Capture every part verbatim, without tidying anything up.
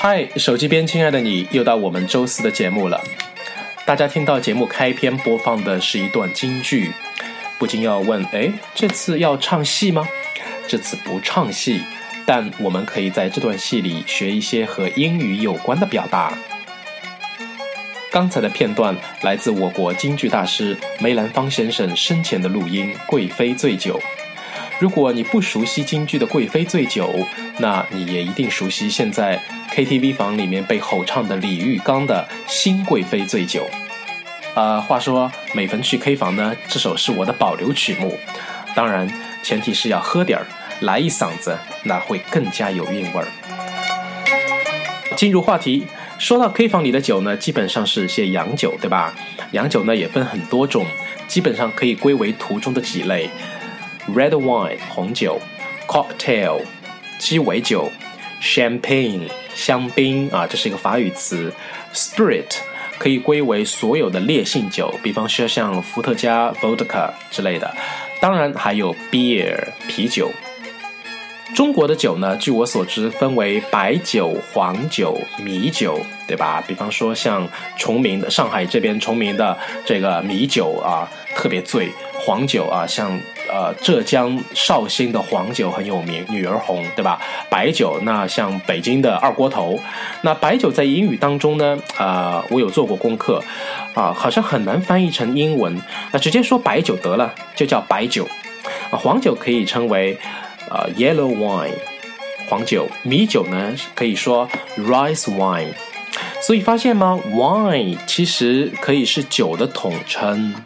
嗨，手机边亲爱的你，又到我们周四的节目了。大家听到节目开篇播放的是一段京剧，不禁要问，诶，这次要唱戏吗？这次不唱戏，但我们可以在这段戏里学一些和英语有关的表达。刚才的片段来自我国京剧大师梅兰芳先生生前的录音《贵妃醉酒》。如果你不熟悉京剧的《贵妃醉酒》，那你也一定熟悉现在 K T V 房里面被吼唱的李玉刚的《新贵妃醉酒》。呃，话说每逢去 K 房呢，这首是我的保留曲目，当然前提是要喝点儿，来一嗓子，那会更加有韵味儿。进入话题，说到 K 房里的酒呢，基本上是些洋酒，对吧？洋酒呢也分很多种，基本上可以归为图中的几类。Red wine 红酒， Cocktail 鸡尾酒， Champagne 香槟啊，这是一个法语词。 Spirit 可以归为所有的烈性酒，比方说像伏特加 Vodka 之类的，当然还有 Beer 啤酒。中国的酒呢，据我所知分为白酒、黄酒、米酒，对吧？比方说像崇明的上海这边崇明的这个米酒啊，特别醉。黄酒啊，像呃浙江绍兴的黄酒很有名，女儿红，对吧？白酒那像北京的二锅头。那白酒在英语当中呢，呃，我有做过功课啊、呃，好像很难翻译成英文，那直接说白酒得了，就叫白酒。啊，黄酒可以称为呃 yellow wine， 黄酒。米酒呢可以说 rice wine。所以发现吗 ？wine 其实可以是酒的统称。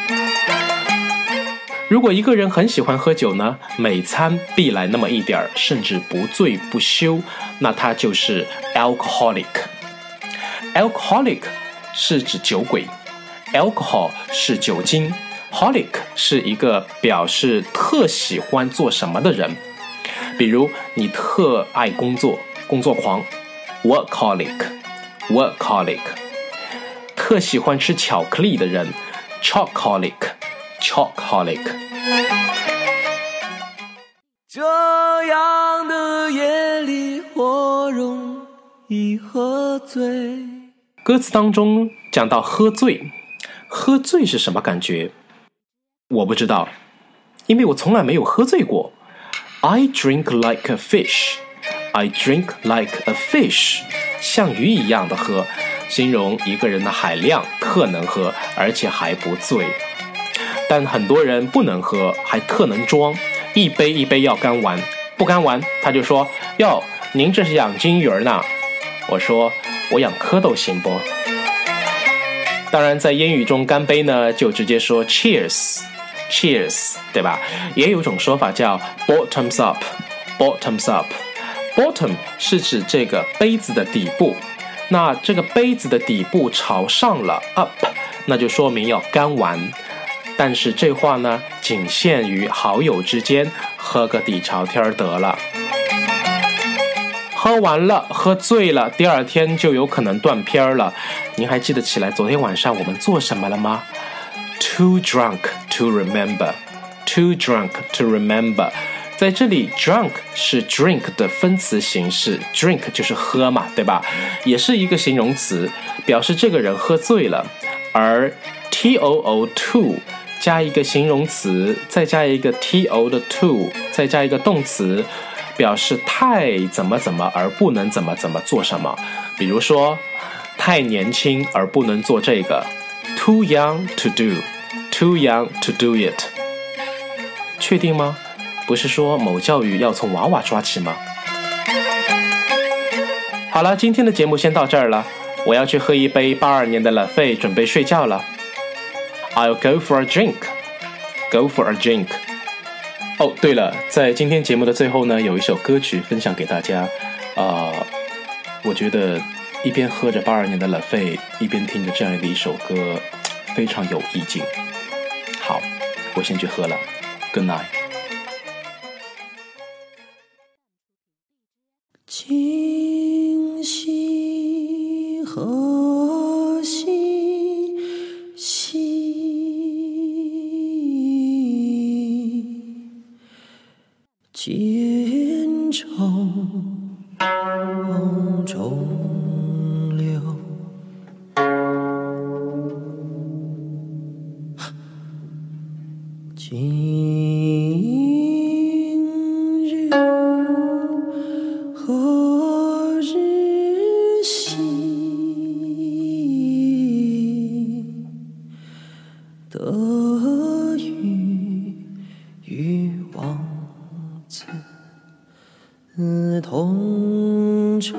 如果一个人很喜欢喝酒呢，每餐必来那么一点，甚至不醉不休，那他就是 alcoholic。alcoholic 是指酒鬼， alcohol 是酒精， holic 是一个表示特喜欢做什么的人。比如你特爱工作，工作狂 workaholic workaholic。 特喜欢吃巧克力的人 chocoholic chocoholic。 这样的夜里我容易喝醉。 歌词当中讲到喝醉，喝醉是什么感觉？我不知道，因为我从来没有喝醉过。 I drink like a fish I drink like a fish， 像鱼一样的喝，形容一个人的海量，特能喝，而且还不醉。但很多人不能喝，还特能装，一杯一杯要干完，不干完他就说，哟，您这是养金鱼呢？我说我养蝌蚪行不？当然在英语中干杯呢就直接说 cheers cheers， 对吧？也有一种说法叫 bottoms up bottoms up。 bottom 是指这个杯子的底部，那这个杯子的底部朝上了 up， 那就说明要干完。但是这话呢，仅限于好友之间，喝个底朝天得了。喝完了，喝醉了，第二天就有可能断片了。您还记得起来昨天晚上我们做什么了吗？ Too drunk to remember Too drunk to remember。 在这里 drunk 是 drink 的分词形式， drink 就是喝嘛，对吧？也是一个形容词，表示这个人喝醉了。而 too too加一个形容词，再加一个 to 的 to， 再加一个动词，表示太怎么怎么而不能怎么怎么做什么。比如说太年轻而不能做这个， too young to do too young to do it。 确定吗？不是说某教育要从娃娃抓起吗？好了，今天的节目先到这儿了，我要去喝一杯八二年的拉菲，准备睡觉了。I'll go for a drink. Go for a drink. 哦，对了，在今天节目的最后呢，有一首歌曲分享给大家。呃，我觉得一边喝着八二年的拉菲，一边听着这样的一首歌，非常有意境。好，我先去喝了。Good night. 今夕何夕夕，见愁中流。今日何日兮？得与与王子同舟。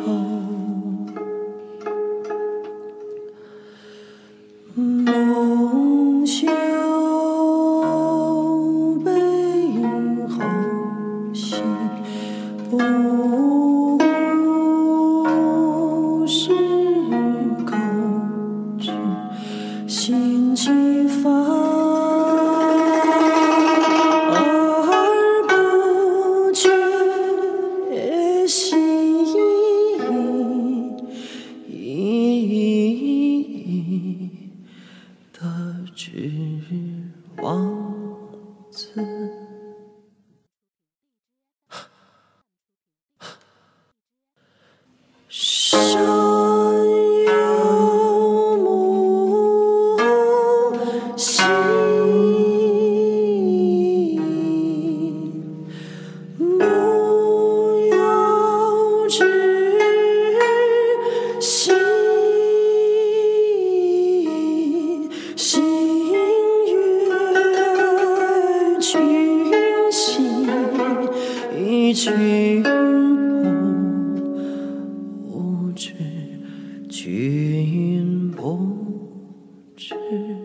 梦袖背后兮，不是口之心其发，而不觉兮。得知王子。山有木兮，木有枝兮，心悦君兮，君不知，君不知。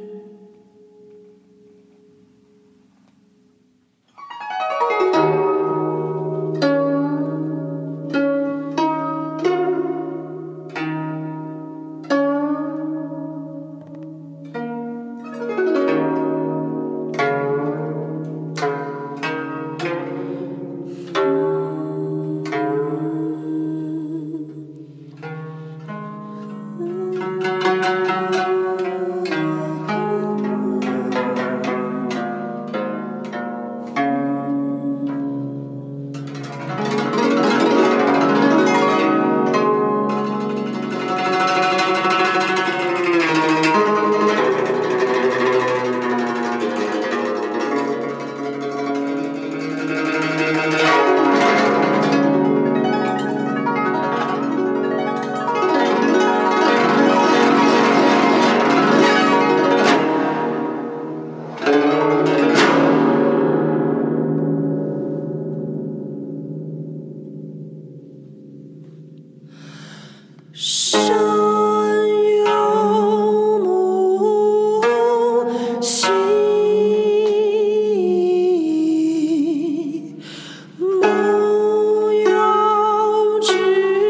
山有木兮，木有枝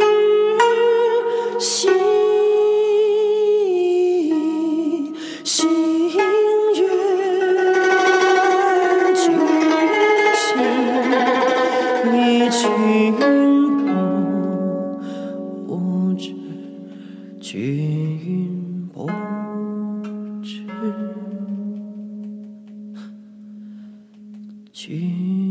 兮，心悦君兮，君不知，君不知，君。